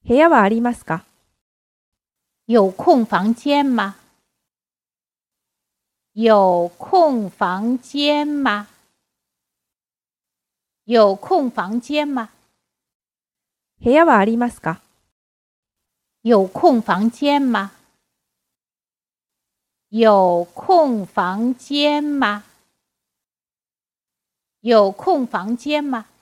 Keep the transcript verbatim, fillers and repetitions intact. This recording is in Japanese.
部屋はありますか？ 有空房间吗？有空房间吗？有空房间吗？ 部屋はありますか？ 有空房间吗？有空房间吗？有空房间吗？